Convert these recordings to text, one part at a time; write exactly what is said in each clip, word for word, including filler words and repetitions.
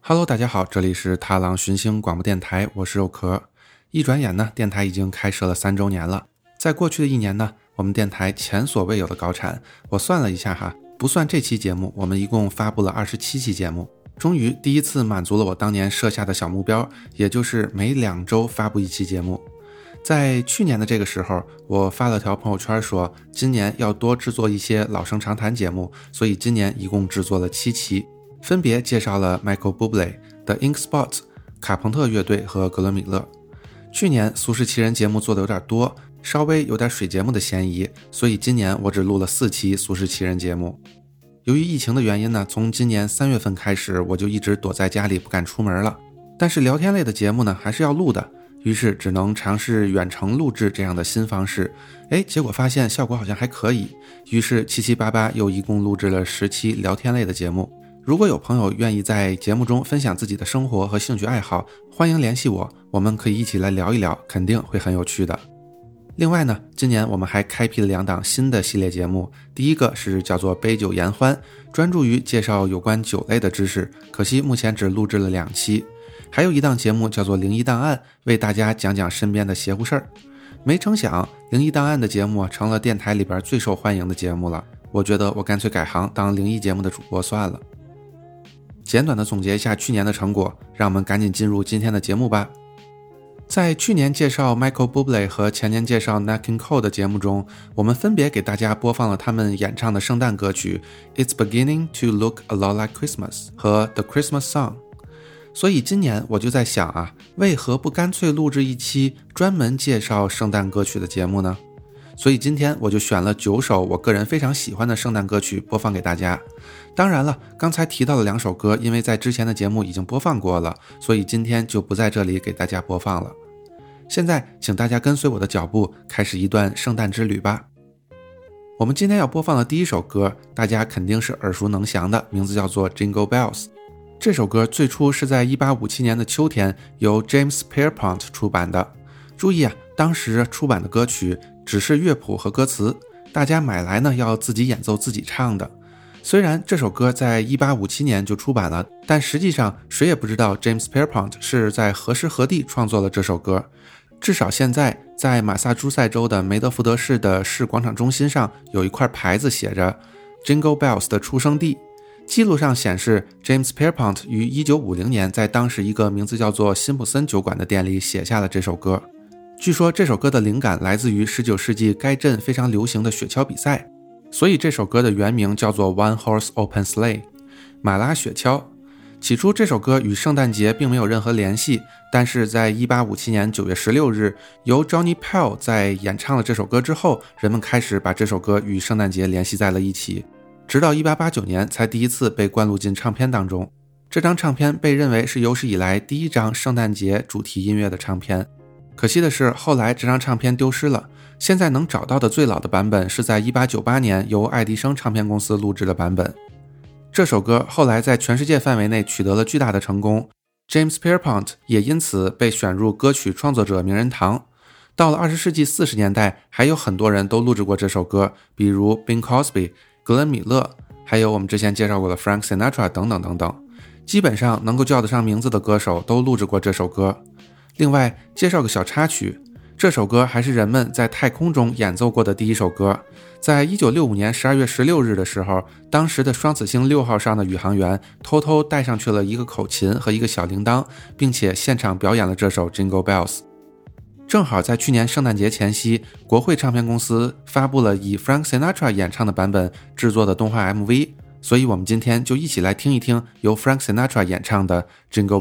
Hello， 大家好，这里是踏浪寻星广播电台，我是肉壳。一转眼呢，电台已经开设了三周年了。在过去的一年呢，我们电台前所未有的高产。我算了一下哈，不算这期节目，我们一共发布了二十七期节目，终于第一次满足了我当年设下的小目标，也就是每两周发布一期节目。在去年的这个时候，我发了条朋友圈说，今年要多制作一些老生常谈节目，所以今年一共制作了七期，分别介绍了 Michael Bublé、The Ink Spots、卡朋特乐队和格伦米勒。去年俗世奇人节目做的有点多，稍微有点水节目的嫌疑，所以今年我只录了四期俗世奇人节目。由于疫情的原因呢，从今年三月份开始，我就一直躲在家里不敢出门了。但是聊天类的节目呢，还是要录的，于是只能尝试远程录制这样的新方式。诶，结果发现效果好像还可以，于是七七八八又一共录制了十期聊天类的节目。如果有朋友愿意在节目中分享自己的生活和兴趣爱好，欢迎联系我，我们可以一起来聊一聊，肯定会很有趣的。另外呢，今年我们还开辟了两档新的系列节目，第一个是叫做杯酒言欢，专注于介绍有关酒类的知识，可惜目前只录制了两期。还有一档节目叫做灵异档案，为大家讲讲身边的邪乎事儿。没成想灵异档案的节目成了电台里边最受欢迎的节目了，我觉得我干脆改行当灵异节目的主播算了。简短的总结一下去年的成果，让我们赶紧进入今天的节目吧。在去年介绍 Michael Bublé 和前年介绍 Nat King Cole 的节目中，我们分别给大家播放了他们演唱的圣诞歌曲 It's Beginning to Look a Lot Like Christmas 和 The Christmas Song。 所以今年我就在想啊，为何不干脆录制一期专门介绍圣诞歌曲的节目呢？所以今天我就选了九首我个人非常喜欢的圣诞歌曲播放给大家。当然了，刚才提到的两首歌因为在之前的节目已经播放过了，所以今天就不在这里给大家播放了。现在请大家跟随我的脚步，开始一段圣诞之旅吧。我们今天要播放的第一首歌，大家肯定是耳熟能详的，名字叫做 Jingle Bells。 这首歌最初是在一八五七年的秋天由 James Pierpont 出版的。注意啊，当时出版的歌曲只是乐谱和歌词，大家买来呢要自己演奏自己唱的。虽然这首歌在一八五七年就出版了，但实际上谁也不知道 James Pierpont 是在何时何地创作了这首歌。至少现在在马萨诸塞州的梅德福德市的市广场中心上有一块牌子写着 Jingle Bells 的出生地，记录上显示 James Pierpont 于一九五零年在当时一个名字叫做辛普森酒馆的店里写下了这首歌。据说这首歌的灵感来自于十九世纪该镇非常流行的雪橇比赛，所以这首歌的原名叫做 One Horse Open Sleigh 马拉雪橇。起初这首歌与圣诞节并没有任何联系，但是在一八五七年九月十六日由 Johnny Pell 在演唱了这首歌之后，人们开始把这首歌与圣诞节联系在了一起，直到一八八九年才第一次被灌录进唱片当中。这张唱片被认为是有史以来第一张圣诞节主题音乐的唱片。可惜的是后来这张唱片丢失了，现在能找到的最老的版本是在一八九八年由爱迪生唱片公司录制的版本。这首歌后来在全世界范围内取得了巨大的成功， James Pierpont 也因此被选入歌曲创作者名人堂。到了二十世纪四十年代，还有很多人都录制过这首歌，比如 Bing Crosby、格伦米勒，还有我们之前介绍过的 Frank Sinatra 等等等等，基本上能够叫得上名字的歌手都录制过这首歌。另外介绍个小插曲，这首歌还是人们在太空中演奏过的第一首歌。在一九六五年十二月十六日的时候，当时的双子星六号上的宇航员偷偷带上去了一个口琴和一个小铃铛，并且现场表演了这首 Jingle Bells。 正好在去年圣诞节前夕，国会唱片公司发布了以 Frank Sinatra 演唱的版本制作的动画 M V， 所以我们今天就一起来听一听由 Frank Sinatra 演唱的 Jingle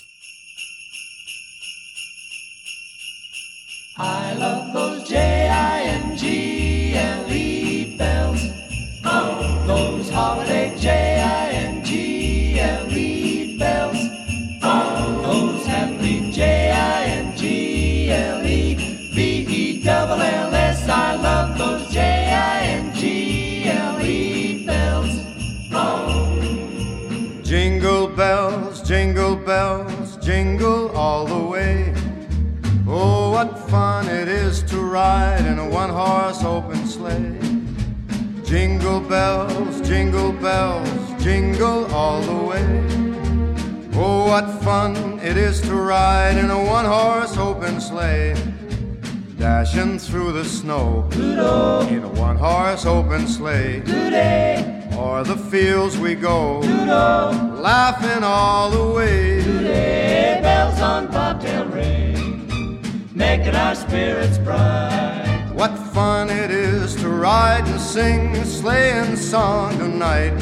Bells。I love those J I N G L E bells, oh, those holiday J I N G L E bells, oh, those happy J I N G L E B E L L S. I love those J I N G L E bells, oh. Jingle bells, jingle bells, jingle all the way.Oh, what fun it is to ride in a one-horse open sleigh. Jingle bells, jingle bells, jingle all the way. Oh, what fun it is to ride in a one-horse open sleigh, dashing through the snow Doodle. In a one-horse open sleigh. Doodle. O'er the fields we go Doodle. Laughing all the way. Doodle. Bells on bobtail ring, making our spirits bright. What fun it is to ride and sing a sleighing song tonight.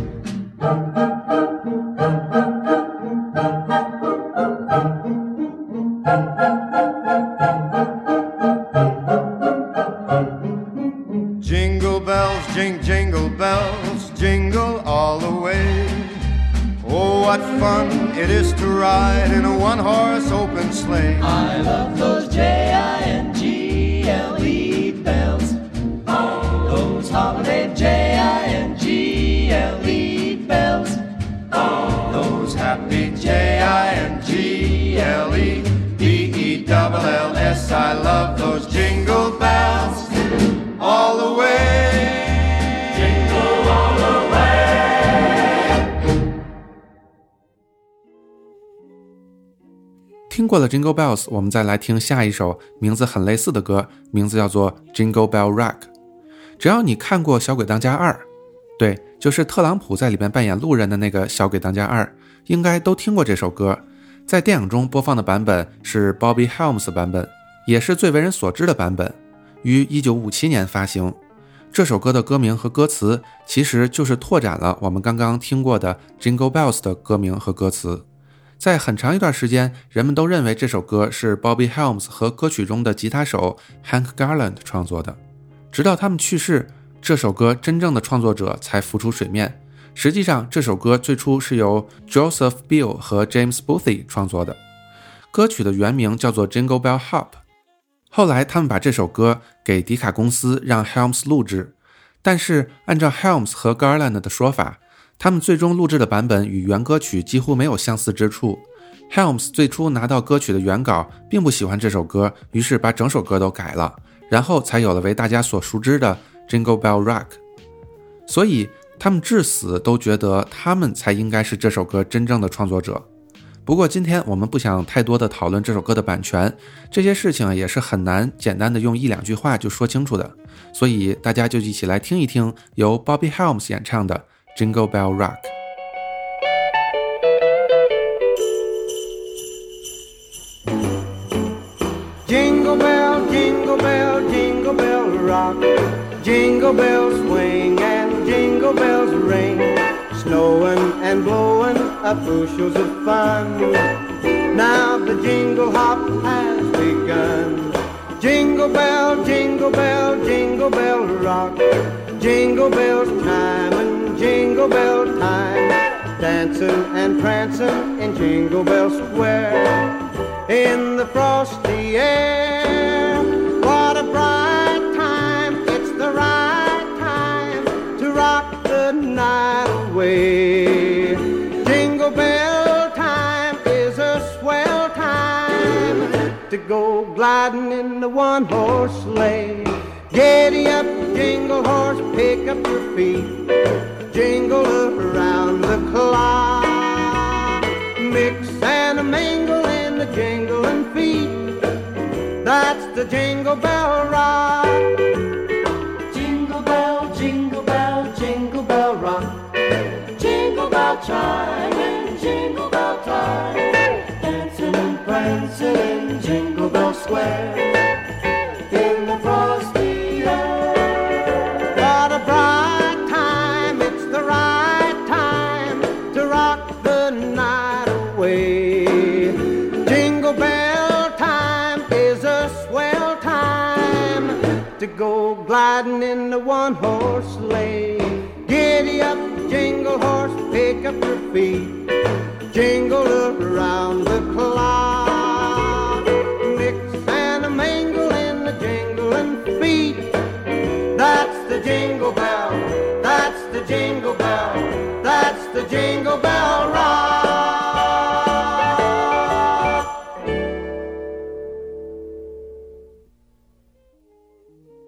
Jingle bells, jing, jingle bells, jingle all the way. Oh, what fun it is to ride in a one-horse open sleigh. I love those J I N G L E bells, those holiday J I N G L E bells, those happy J I N G L E B E L L S. I love those jingle bells all the way. Jingle all the way. 听过了 Jingle Bells， 我们再来听下一首名字很类似的歌，名字叫做 Jingle Bell Rock。 只要你看过小鬼当家二，对，就是特朗普在里面扮演路人的那个小鬼当家二，应该都听过这首歌。在电影中播放的版本是 Bobby Helms 版本，也是最为人所知的版本，于一九五七年发行。这首歌的歌名和歌词其实就是拓展了我们刚刚听过的 Jingle Bells 的歌名和歌词。在很长一段时间，人们都认为这首歌是 Bobby Helms 和歌曲中的吉他手 Hank Garland 创作的。直到他们去世，这首歌真正的创作者才浮出水面。实际上，这首歌最初是由 Joseph Bill 和 James Boothie 创作的。歌曲的原名叫做 Jingle Bell Hop。后来他们把这首歌给迪卡公司让 Helms 录制，但是按照 Helms 和 Garland 的说法，他们最终录制的版本与原歌曲几乎没有相似之处。 Helms 最初拿到歌曲的原稿并不喜欢这首歌，于是把整首歌都改了，然后才有了为大家所熟知的 Jingle Bell Rock。 所以他们至死都觉得他们才应该是这首歌真正的创作者。不过今天我们不想太多的讨论这首歌的版权，这些事情也是很难简单的用一两句话就说清楚的，所以大家就一起来听一听由 Bobby Helms 演唱的 Jingle Bell Rock。 Jingle bell, jingle bell, jingle bell rock. Jingle bells swing and jingle bells ring, snowing and blowing up bushels of fun. Now the jingle hop has begun. Jingle bell, jingle bell, jingle bell rock. Jingle bells time and jingle bell time, dancing and prancing in Jingle Bell Square. In the frosty air, what a bright time, it's the right time to rock the night away. Jingle bell time is a swell time to go gliding in the one-horse sleigh. Giddy up, jingle horse, pick up your feet, jingle around the clock, mix and mingle in the jingling feet. That's the Jingle Bell Rock. Jingle bell, jingle bell, jingle bell rock. Jingle bell chime and jingle bell time, dancing and prancing in Jingle Bell Square. In the frosty air, what a bright time, it's the right time to rock the night away. Jingle bell time is a swell time to go gliding in the one-horse sleigh. Giddy up, jingle horse, pick up your feet, jingle around the clock, mix and a mingle in the jingling feet. That's the jingle bell, that's the jingle bell, that's the Jingle Bell Rock.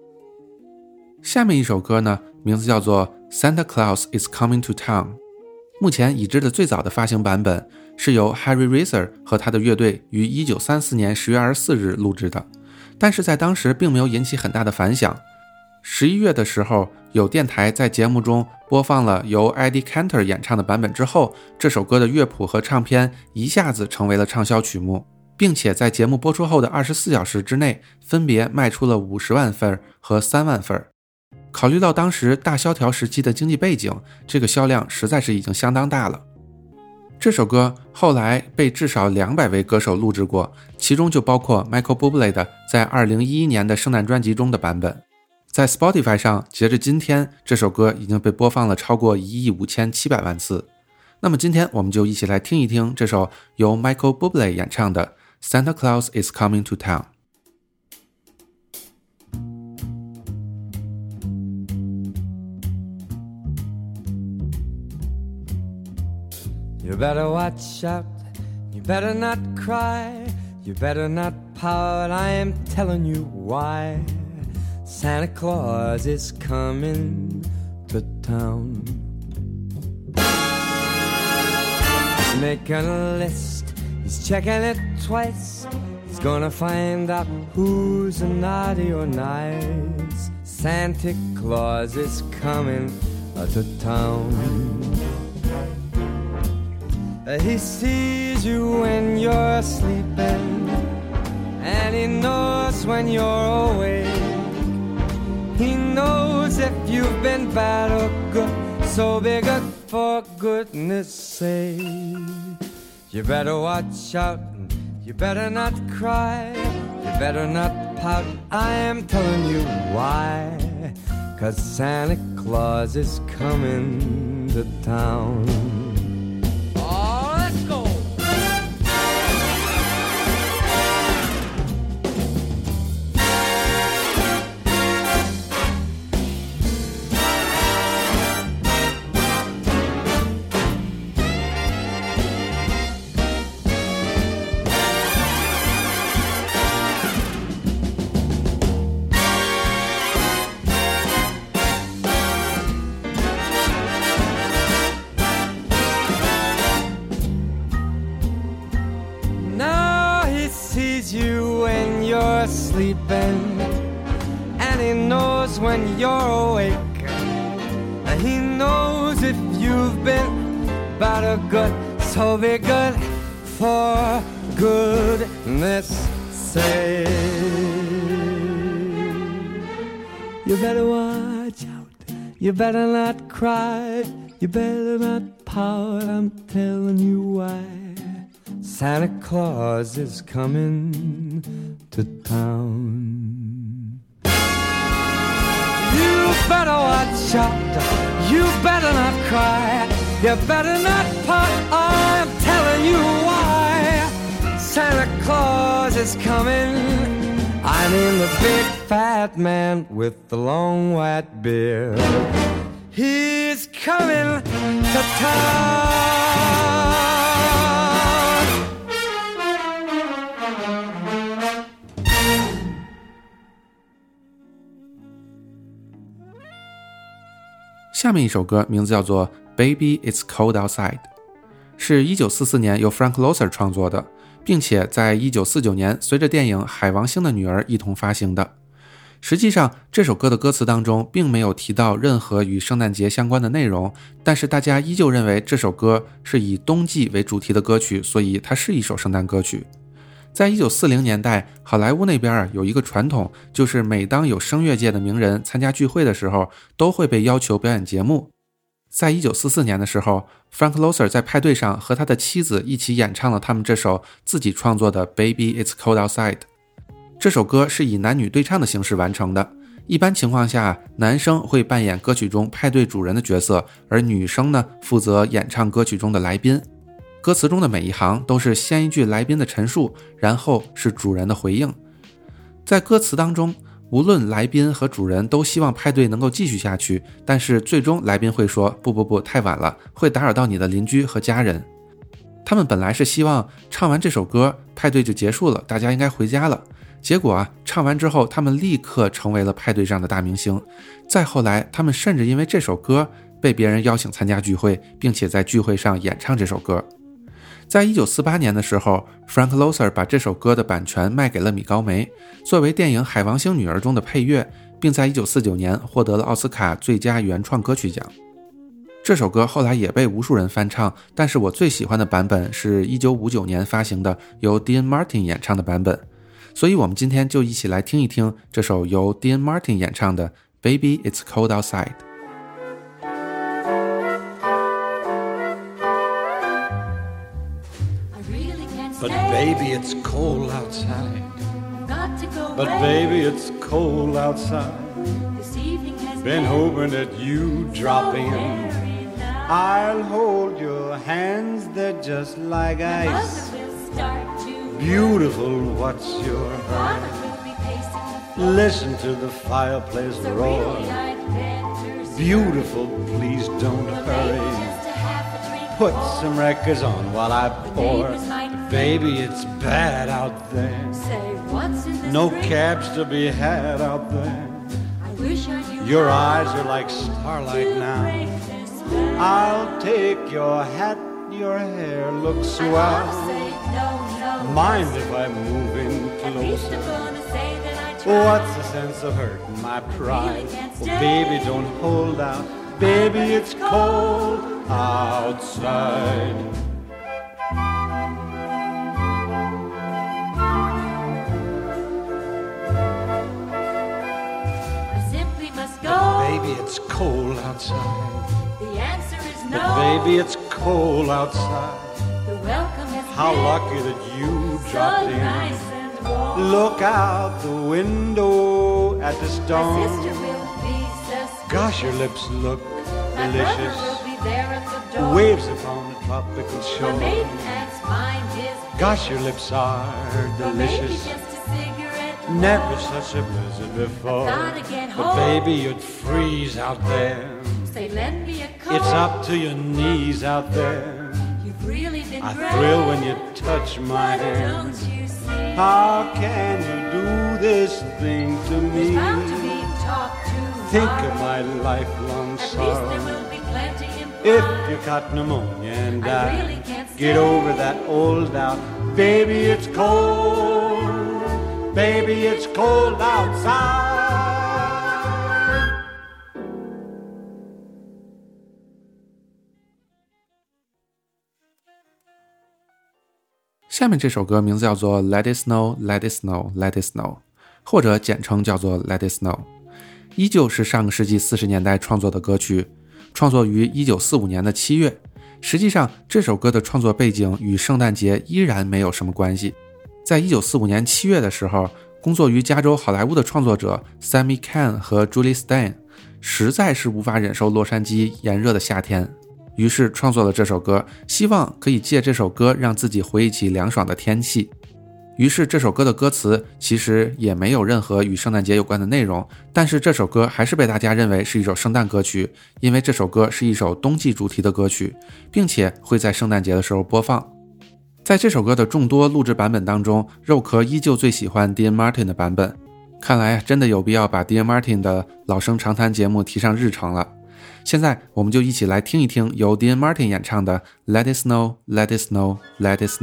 下面一首歌呢，名字叫做 Santa Claus is Coming to Town。 目前已知的最早的发行版本是由 Harry Racer 和他的乐队于一九三四年十月二十四日录制的，但是在当时并没有引起很大的反响。十一月的时候，有电台在节目中播放了由 Eddie Cantor 演唱的版本之后，这首歌的乐谱和唱片一下子成为了畅销曲目，并且在节目播出后的二十四小时之内分别卖出了五十万份和三万份。考虑到当时大萧条时期的经济背景，这个销量实在是已经相当大了。这首歌后来被至少两百位歌手录制过，其中就包括 Michael Bublé 的在二零一一年的圣诞专辑中的版本。在 Spotify 上，截至今天，这首歌已经被播放了超过一亿五千七百万次。那么今天我们就一起来听一听这首由 Michael Bublé 演唱的 Santa Claus is Coming to Town。You better watch out, you better not cry, you better not pout, I am telling you why. Santa Claus is coming to town. He's making a list, he's checking it twice. He's gonna find out who's naughty or nice. Santa Claus is coming to town.He sees you when you're sleeping, and he knows when you're awake. He knows if you've been bad or good, so be good for goodness sake. You better watch out, you better not cry, you better not pout, I am telling you why. 'Cause Santa Claus is coming to town.You when you're sleeping, and he knows when you're awake. He knows if you've been bad or good, so be good for goodness sake. You better watch out, you better not cry, you better not pout, I'm telling you why.Santa Claus is coming to town. You better watch out, you better not cry, you better not pout, I'm telling you why. Santa Claus is coming, I mean the big fat man with the long white beard. He's coming to town. 下面一首歌名字叫做 Baby It's Cold Outside， 是一九四四年由 Frank Loesser 创作的，并且在一九四九年随着电影《海王星的女儿》一同发行的。实际上这首歌的歌词当中并没有提到任何与圣诞节相关的内容，但是大家依旧认为这首歌是以冬季为主题的歌曲，所以它是一首圣诞歌曲。在一九四零年代，好莱坞那边有一个传统，就是每当有声乐界的名人参加聚会的时候，都会被要求表演节目。在一九四四年的时候， Frank Loesser 在派对上和他的妻子一起演唱了他们这首自己创作的 Baby It's Cold Outside。 这首歌是以男女对唱的形式完成的，一般情况下男生会扮演歌曲中派对主人的角色，而女生呢负责演唱歌曲中的来宾。歌词中的每一行都是先一句来宾的陈述，然后是主人的回应。在歌词当中，无论来宾和主人都希望派对能够继续下去，但是最终来宾会说不不不，太晚了，会打扰到你的邻居和家人。他们本来是希望唱完这首歌派对就结束了，大家应该回家了，结果啊，唱完之后他们立刻成为了派对上的大明星。再后来他们甚至因为这首歌被别人邀请参加聚会，并且在聚会上演唱这首歌。在一九四八年的时候 Frank Loesser 把这首歌的版权卖给了米高梅，作为电影《海王星女儿》中的配乐，并在一九四九年获得了奥斯卡最佳原创歌曲奖。这首歌后来也被无数人翻唱，但是我最喜欢的版本是一九五九年发行的由 Dean Martin 演唱的版本，所以我们今天就一起来听一听这首由 Dean Martin 演唱的 Baby It's Cold Outside。But baby, it's cold outside. But baby, it's cold outside. Been hoping that you drop in. I'll hold your hands, they're just like ice. Beautiful, what's your hurry? Listen to the fireplace roar. Beautiful, please don't hurry.Put some records on while I pour. Baby, it's bad out there. No cabs to be had out there. Your eyes are like starlight now. I'll take your hat, your hair looks swell. Mind if I move in closer? What's the sense of hurting my pride? Well, baby, don't hold out. Baby, it's cold outside. I simply must go. But baby, it's cold outside. The answer is no. But baby, it's cold outside. The welcome has How been lucky that you dropped so in. Nice and warm. Look out the window at the My storm. sister will be suspicious. Gosh, your lips look My delicious. brother will be there at the door. Waves upon the tropical My shore. maiden aunt's mind is Gosh, your lips are or maybe delicious. just a cigarette. Never such a blizzard before. Gotta get But home. baby, you'd freeze out there. Say, lend me a coat. It's up to your knees out there. You've really been I great. thrill when you touch my But hand. don't you see? How can you do this thing to There's me? bound to be talk tomorrow. Think of my lifelong At least sorrow. there will be plenty If implied. you caught pneumonia and I died, really can't get stay. over that old doubt. Baby, it's cold. Baby, it's cold outside. 下面这首歌名字叫做 Let It Snow, Let It Snow, Let It Snow， 或者简称叫做 Let It Snow， 依旧是上个世纪四十年代创作的歌曲，创作于一九四五年的七月。实际上这首歌的创作背景与圣诞节依然没有什么关系。在一九四五年七月的时候，工作于加州好莱坞的创作者 Sammy Cahn 和 Julie Stein 实在是无法忍受洛杉矶炎热的夏天，于是创作了这首歌，希望可以借这首歌让自己回忆起凉爽的天气。于是这首歌的歌词其实也没有任何与圣诞节有关的内容，但是这首歌还是被大家认为是一首圣诞歌曲，因为这首歌是一首冬季主题的歌曲，并且会在圣诞节的时候播放。在这首歌的众多录制版本当中，肉壳依旧最喜欢 Dean Martin 的版本，看来真的有必要把 Dean Martin 的老生常谈节目提上日程了。现在我们就一起来听一听由 Dean Martin 演唱的 Let It Snow, Let It Snow, Let It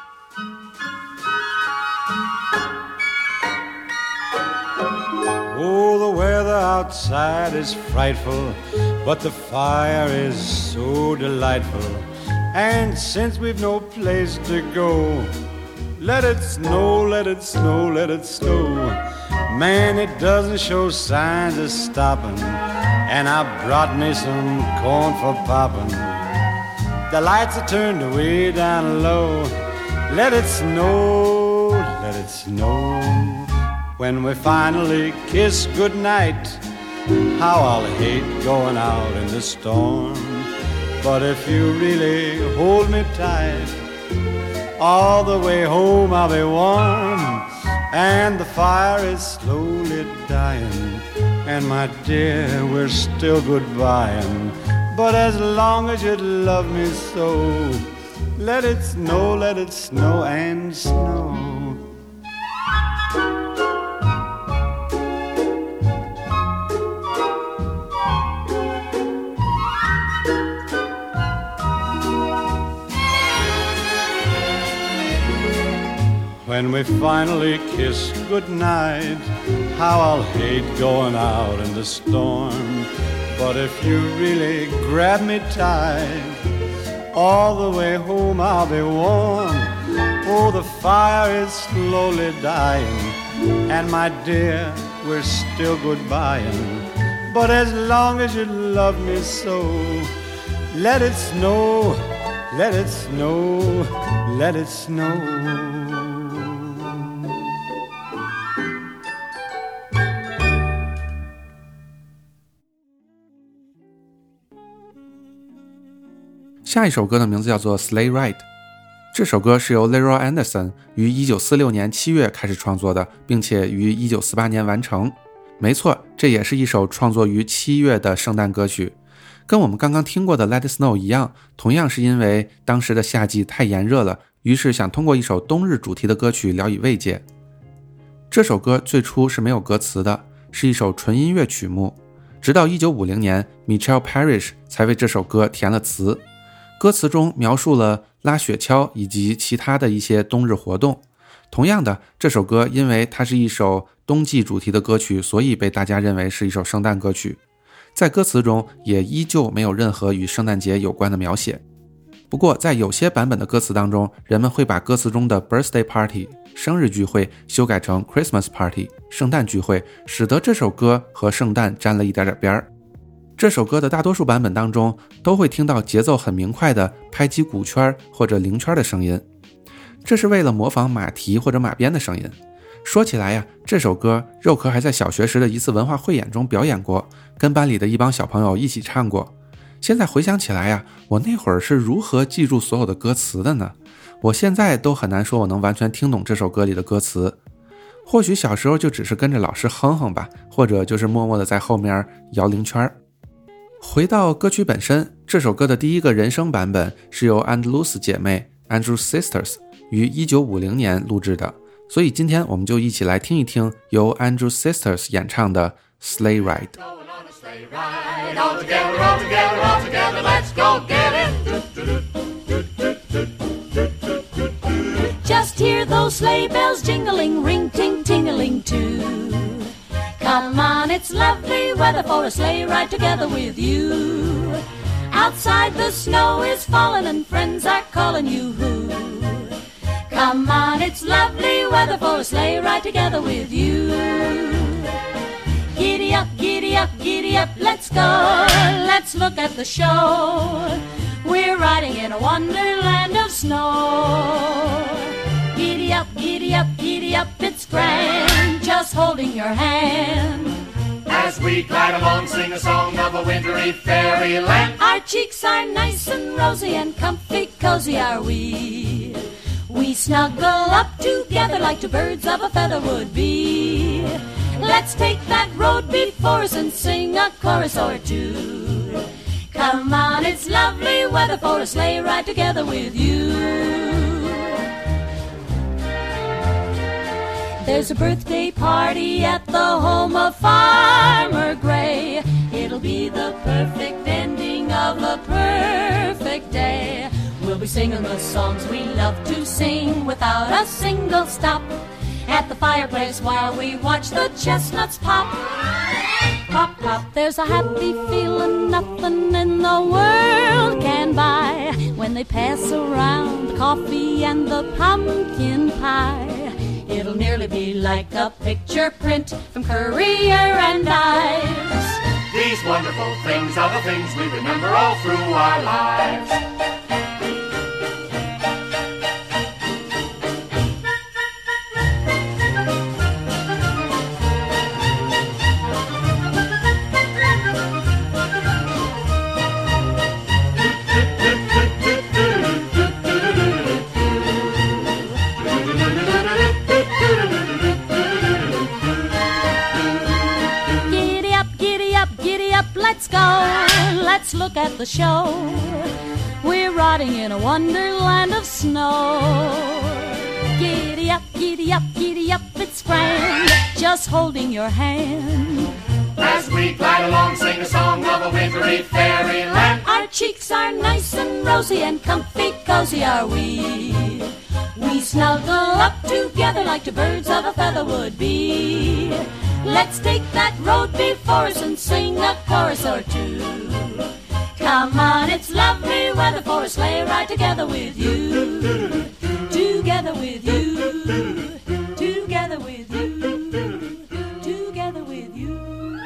Oh, the weather outside is frightful, but the fire is so delightful. And since we've no place to go, let it snow, let it snow, let it snow. Man, it doesn't show signs of stopping, and I brought me some corn for popping. The lights are turned way down low. Let it snow, let it snow. When we finally kiss goodnight, how I'll hate going out in the storm. But if you really hold me tight, all the way home I'll be warm. And the fire is slowly dying, and my dear, we're still goodbying. But as long as you love me so, let it snow, let it snow and snow. When we finally kiss goodnight, how I'll hate going out in the storm. But if you really grab me tight, all the way home I'll be warm. Oh, the fire is slowly dying, and my dear, we're still goodbying. But as long as you love me so, let it snow, let it snow, let it snow. 下一首歌的名字叫做 Sleigh Ride。 这首歌是由 Leroy Anderson 于一九四六年七月开始创作的，并且于一九四八年完成。没错，这也是一首创作于七月的圣诞歌曲，跟我们刚刚听过的 Let It Snow 一样，同样是因为当时的夏季太炎热了，于是想通过一首冬日主题的歌曲聊以慰藉。这首歌最初是没有歌词的，是一首纯音乐曲目，直到一九五零年 Michelle Parrish 才为这首歌填了词。歌词中描述了拉雪橇以及其他的一些冬日活动。同样的，这首歌因为它是一首冬季主题的歌曲，所以被大家认为是一首圣诞歌曲。在歌词中也依旧没有任何与圣诞节有关的描写。不过在有些版本的歌词当中，人们会把歌词中的 birthday party 生日聚会修改成 Christmas party 圣诞聚会，使得这首歌和圣诞沾了一点点边儿。这首歌的大多数版本当中都会听到节奏很明快的拍击鼓圈或者铃圈的声音，这是为了模仿马蹄或者马鞭的声音。说起来呀，这首歌肉壳还在小学时的一次文化汇演中表演过，跟班里的一帮小朋友一起唱过。现在回想起来呀，我那会儿是如何记住所有的歌词的呢？我现在都很难说我能完全听懂这首歌里的歌词。或许小时候就只是跟着老师哼哼吧，或者就是默默地在后面摇铃圈。回到歌曲本身，这首歌的第一个人声版本是由 Andrews 姐妹 Andrews Sisters 于一九五零年录制的，所以今天我们就一起来听一听由 Andrews Sisters 演唱的 Sleigh Ride。 All together, all together, all together, let's go get it. Just hear those sleigh bells jingling, ring ting tingling too. Come on, it's lovely weather for a sleigh ride together with you. Outside the snow is falling and friends are calling you. Come on, it's lovely weather for a sleigh ride together with you. Giddy up, giddy up, giddy up, let's go. Let's look at the show. We're riding in a wonderland of snow. Giddy up, giddy up, giddy up, it's grand, just holding your hand. As we glide along, sing a song of a wintry fairyland. Our cheeks are nice and rosy and comfy cozy are we. We snuggle up together like two birds of a feather would be. Let's take that road before us and sing a chorus or two. Come on, it's lovely weather for a sleigh ride together with you. There's a birthday party at the home of Farmer Gray. It'll be the perfect ending of a perfect day. We'll be singing the songs we love to sing without a single stop. At the fireplace while we watch the chestnuts pop. Pop, pop, there's a happy feeling nothing in the world can buy when they pass around the coffee and the pumpkin pie. It'll nearly be like a picture print from Currier and Ives. These wonderful things are the things we remember all through our lives. Let's go, let's look at the show. We're riding in a wonderland of snow. Giddy up, giddy up, giddy up, it's grand, just holding your hand. As we glide along, sing a song of a wintry fairyland. Our cheeks are nice and rosy and comfy cozy are we. We snuggle up together like two birds of a feather would be. Let's take that road before us and sing a chorus or two. Come on, it's lovely weather for a sleigh ride together with you. Together with you. Together with you. Together with you.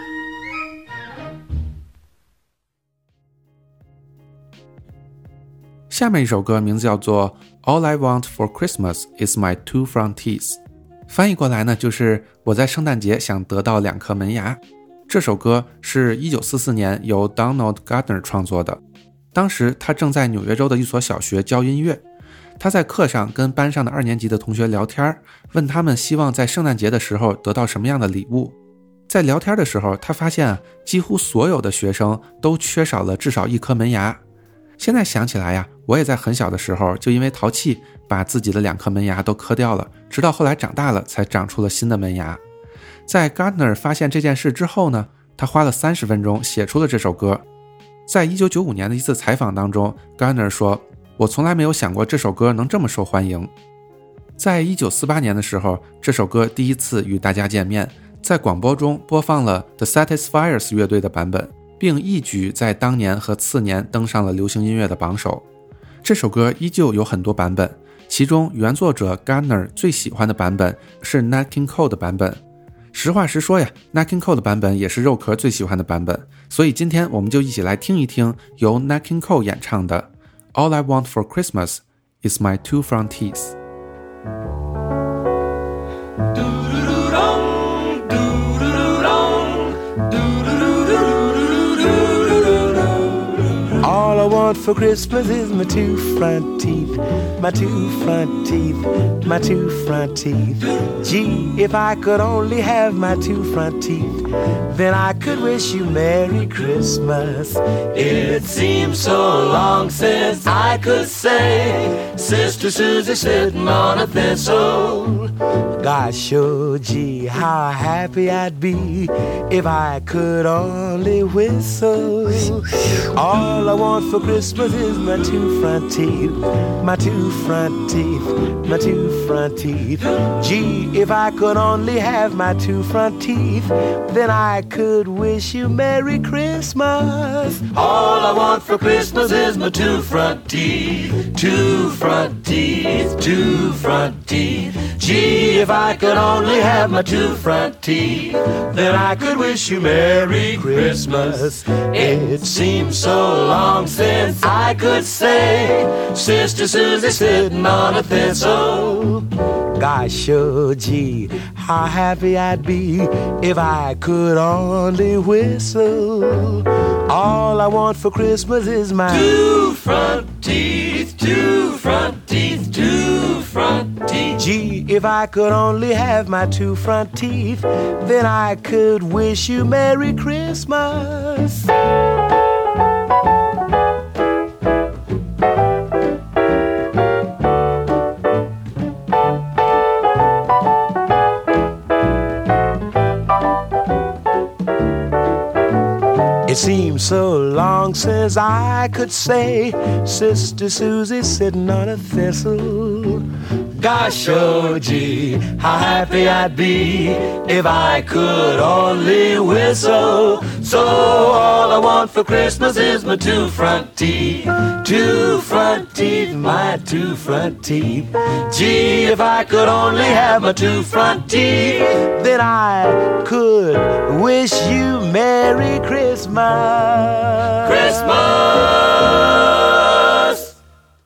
下面一首歌名字叫做 All I Want for Christmas is my two front teeth， 翻译过来呢就是我在圣诞节想得到两颗门牙。这首歌是一九四四年由 Donald Gardner 创作的，当时他正在纽约州的一所小学教音乐，他在课上跟班上的二年级的同学聊天，问他们希望在圣诞节的时候得到什么样的礼物。在聊天的时候，他发现几乎所有的学生都缺少了至少一颗门牙。现在想起来呀，我也在很小的时候就因为淘气把自己的两颗门牙都磕掉了，直到后来长大了才长出了新的门牙。在 Gardner 发现这件事之后呢，他花了三十分钟写出了这首歌。在一九九五年的一次采访当中， Gardner 说，我从来没有想过这首歌能这么受欢迎。在一九四八年的时候，这首歌第一次与大家见面，在广播中播放了 The Satisfiers 乐队的版本，并一举在当年和次年登上了流行音乐的榜首。这首歌依旧有很多版本，其中原作者 Gardner 最喜欢的版本是 Nat King Cole 的版本。实话实说呀， Nat King Cole 的版本也是肉壳最喜欢的版本，所以今天我们就一起来听一听由 Nat King Cole 演唱的 All I Want for Christmas is my two front teeth。 All I want for Christmas is my two front teeth, my two front teeth, my two front teeth. Gee, if I could only have my two front teeth, then I could wish you Merry Christmas. It seems so long since I could say Sister Susie sitting on a thistle. Gosh, oh gee, how happy I'd be if I could only whistle. All I want for Christmas is my two front teeth, my two front teeth, my two front teeth. Gee, if I could only have my two front teeth, then I could wish you Merry Christmas. All I want for Christmas is my two front teeth, two front teeth, two front teeth. Gee, if I could only have my two front teeth, then I could wish you Merry Christmas. It seems so long since I could say Sister Susie sitting on a thistle. Gosh, oh gee, how happy I'd be if I could only whistle. All I want for Christmas is my two front teeth, two front teeth, two front teeth. Gee, if I could only have my two front teeth, then I could wish you Merry Christmas. It seems so long since I could say Sister Susie sitting on a thistle. Gosh, oh gee, how happy I'd be if I could only whistle. So all I want for Christmas is my two front teeth, two front teeth, my two front teeth. Gee, if I could only have my two front teeth, then I could wish you Merry Christmas. Christmas!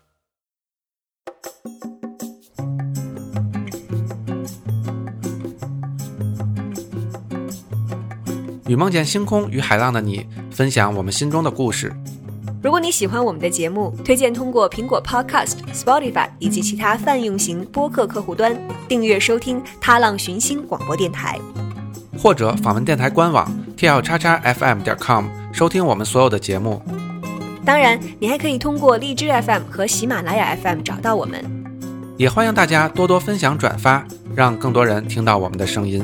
与梦见星空与海浪的你，分享我们心中的故事。 如果你喜欢我们的节目，推荐通过苹果 Podcast、Spotify 以及其他泛用型播客客户端订阅收听踏浪寻星广播电台， 或者访问电台官网 t l x x f m 点 com 收听我们所有的节目。 当然，你还可以通过荔枝 F M 和喜马拉雅 F M 找到我们。 也欢迎大家多多分享转发，让更多人听到我们的声音。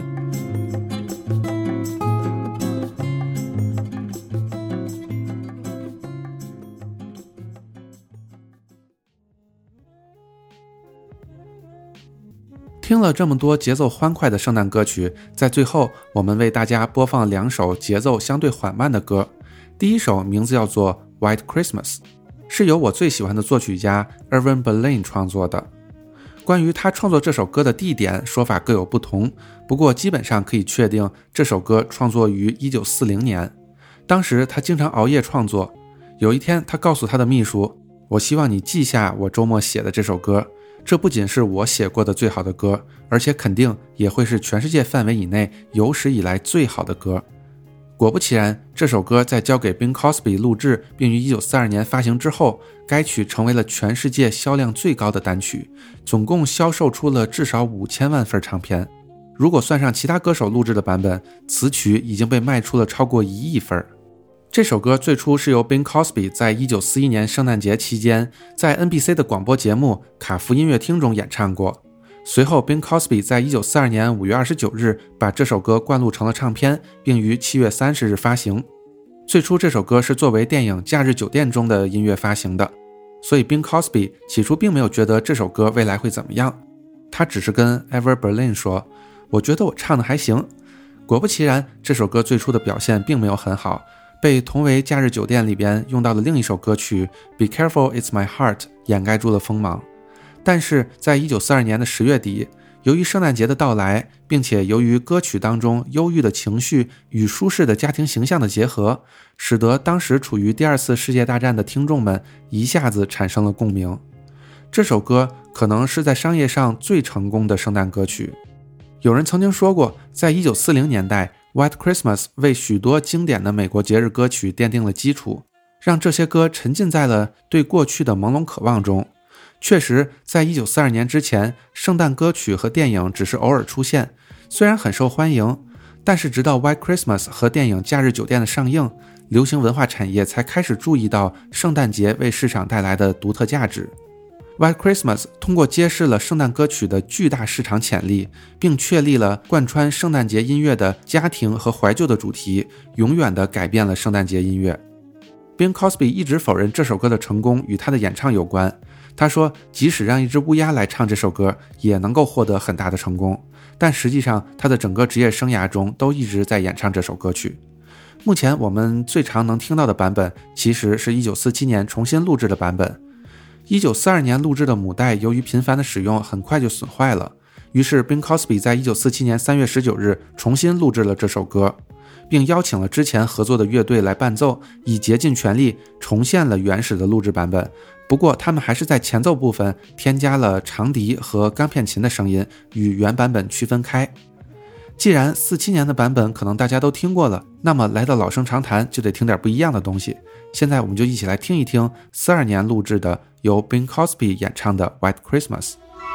听了这么多节奏欢快的圣诞歌曲，在最后我们为大家播放两首节奏相对缓慢的歌。第一首名字叫做 White Christmas， 是由我最喜欢的作曲家 Irving Berlin 创作的。关于他创作这首歌的地点说法各有不同，不过基本上可以确定这首歌创作于一九四零年。当时他经常熬夜创作，有一天他告诉他的秘书，我希望你记下我周末写的这首歌，这不仅是我写过的最好的歌，而且肯定也会是全世界范围以内有史以来最好的歌。果不其然，这首歌在交给 Bing Crosby 录制并于一九四二年发行之后，该曲成为了全世界销量最高的单曲，总共销售出了至少五千万份唱片。如果算上其他歌手录制的版本，此曲已经被卖出了超过一亿份。这首歌最初是由 Bing Crosby 在一九四一年圣诞节期间在 N B C 的广播节目卡夫音乐厅中演唱过。随后 Bing Crosby 在一九四二年五月二十九日把这首歌灌录成了唱片，并于七月三十日发行。最初这首歌是作为电影《假日酒店》中的音乐发行的，所以 Bing Crosby 起初并没有觉得这首歌未来会怎么样，他只是跟 Irving Berlin 说，我觉得我唱的还行。果不其然，这首歌最初的表现并没有很好，被同为《假日酒店》里边用到的另一首歌曲 Be Careful It's My Heart 掩盖住了锋芒。但是在一九四二年的十月底，由于圣诞节的到来，并且由于歌曲当中忧郁的情绪与舒适的家庭形象的结合，使得当时处于第二次世界大战的听众们一下子产生了共鸣。这首歌可能是在商业上最成功的圣诞歌曲。有人曾经说过，在一九四零年代， White Christmas 为许多经典的美国节日歌曲奠定了基础，让这些歌沉浸在了对过去的朦胧渴望中。确实，在一九四二年之前，圣诞歌曲和电影只是偶尔出现，虽然很受欢迎，但是直到 White Christmas 和电影《假日酒店》的上映，流行文化产业才开始注意到圣诞节为市场带来的独特价值。White Christmas 通过揭示了圣诞歌曲的巨大市场潜力，并确立了贯穿圣诞节音乐的家庭和怀旧的主题，永远地改变了圣诞节音乐。Bing Crosby 一直否认这首歌的成功与他的演唱有关，他说即使让一只乌鸦来唱这首歌也能够获得很大的成功，但实际上他的整个职业生涯中都一直在演唱这首歌曲。目前我们最常能听到的版本其实是一九四七年重新录制的版本。一九四二年录制的母带由于频繁的使用很快就损坏了，于是 Bing Crosby 在一九四七年三月十九日重新录制了这首歌，并邀请了之前合作的乐队来伴奏，以竭尽全力重现了原始的录制版本。不过他们还是在前奏部分添加了长笛和钢片琴的声音，与原版本区分开。既然四七年的版本可能大家都听过了，那么来到老生常谈就得听点不一样的东西。现在我们就一起来听一听四二年录制的由 Bing Crosby 演唱的 White Christmas。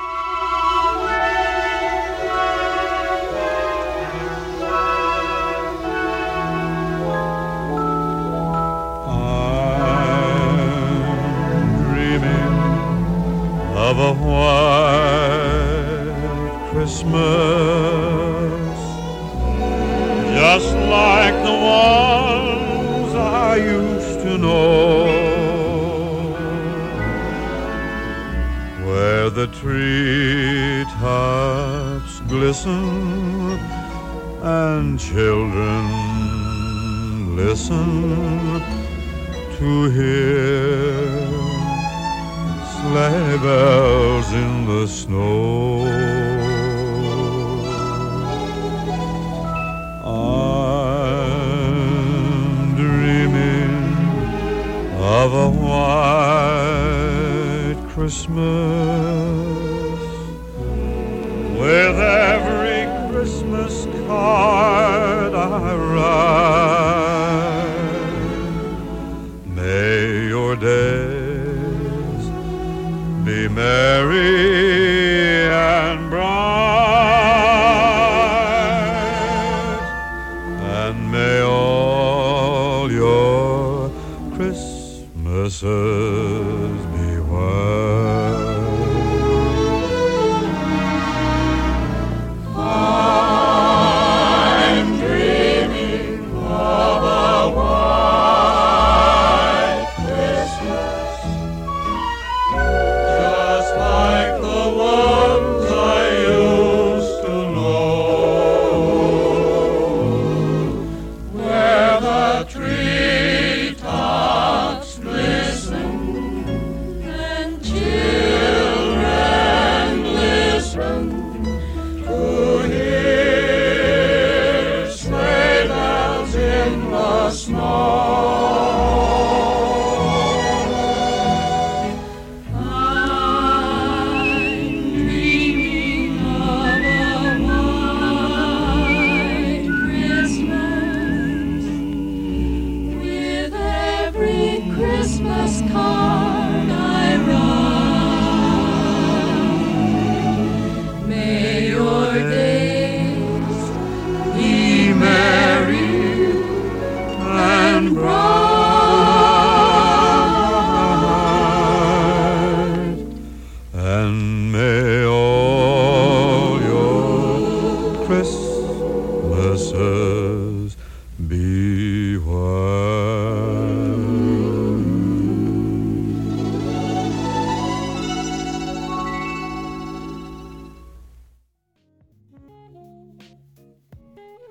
Of a white Christmas, just like the ones I used to know, where the treetops glisten and children listen to hear sleigh bells in the snow. I'm dreaming of a white Christmas, with every Christmas card I write. May your days be merry and bright, and may all your Christmases be white.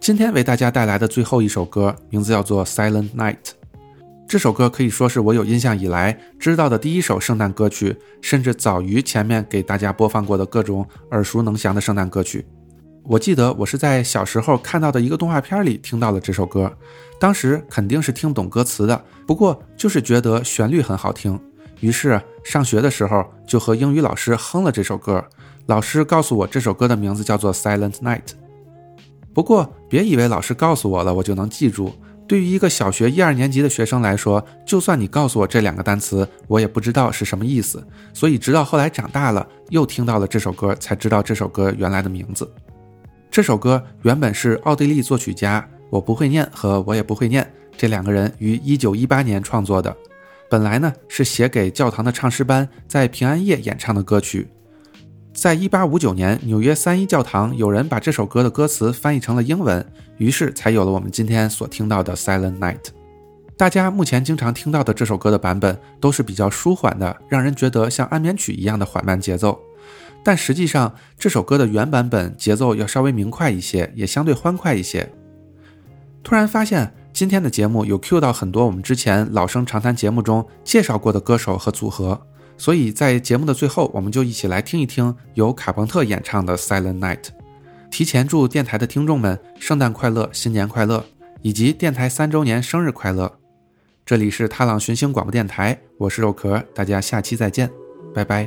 今天为大家带来的最后一首歌名字叫做 Silent Night。 这首歌可以说是我有印象以来知道的第一首圣诞歌曲，甚至早于前面给大家播放过的各种耳熟能详的圣诞歌曲。我记得我是在小时候看到的一个动画片里听到了这首歌，当时肯定是听懂歌词的，不过就是觉得旋律很好听，于是上学的时候就和英语老师哼了这首歌。老师告诉我这首歌的名字叫做 Silent Night。 不过别以为老师告诉我了我就能记住，对于一个小学一二年级的学生来说，就算你告诉我这两个单词，我也不知道是什么意思，所以直到后来长大了又听到了这首歌，才知道这首歌原来的名字。这首歌原本是奥地利作曲家我不会念和我也不会念这两个人于一九一八年创作的，本来呢是写给教堂的唱诗班在平安夜演唱的歌曲。在一八五九年纽约三一教堂有人把这首歌的歌词翻译成了英文，于是才有了我们今天所听到的 Silent Night。 大家目前经常听到的这首歌的版本都是比较舒缓的，让人觉得像安眠曲一样的缓慢节奏，但实际上这首歌的原版本节奏要稍微明快一些，也相对欢快一些。突然发现今天的节目有 cue 到很多我们之前老生常谈节目中介绍过的歌手和组合，所以在节目的最后我们就一起来听一听由卡朋特演唱的 Silent Night。 提前祝电台的听众们圣诞快乐，新年快乐，以及电台三周年生日快乐。这里是踏浪寻星广播电台，我是肉壳，大家下期再见，拜拜。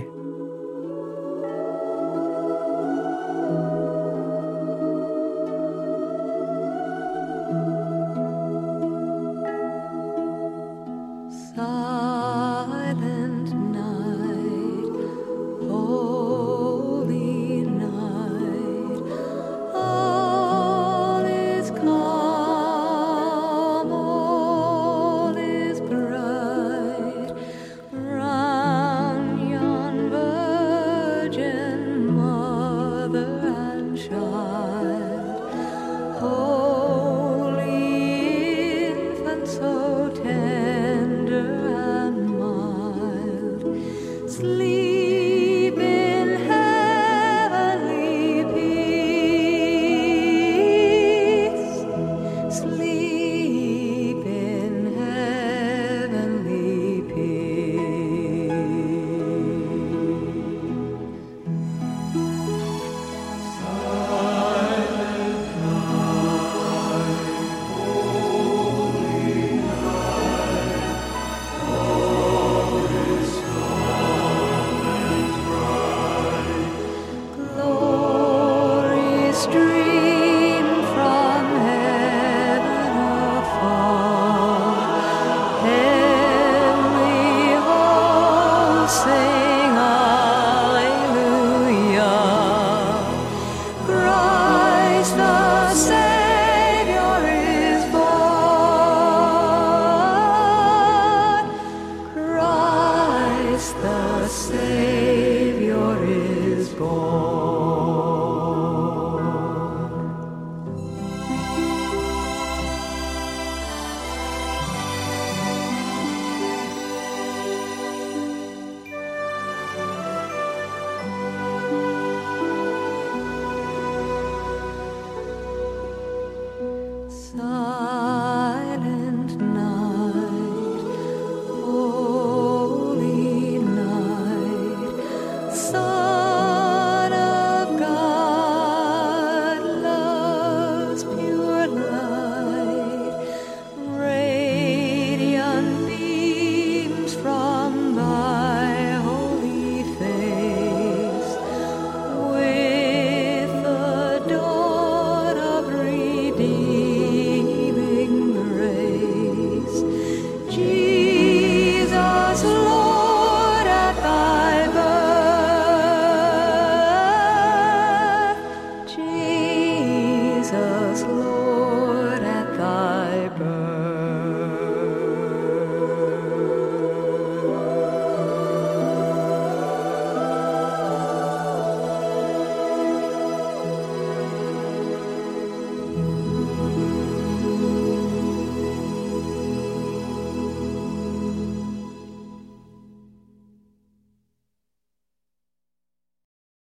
Street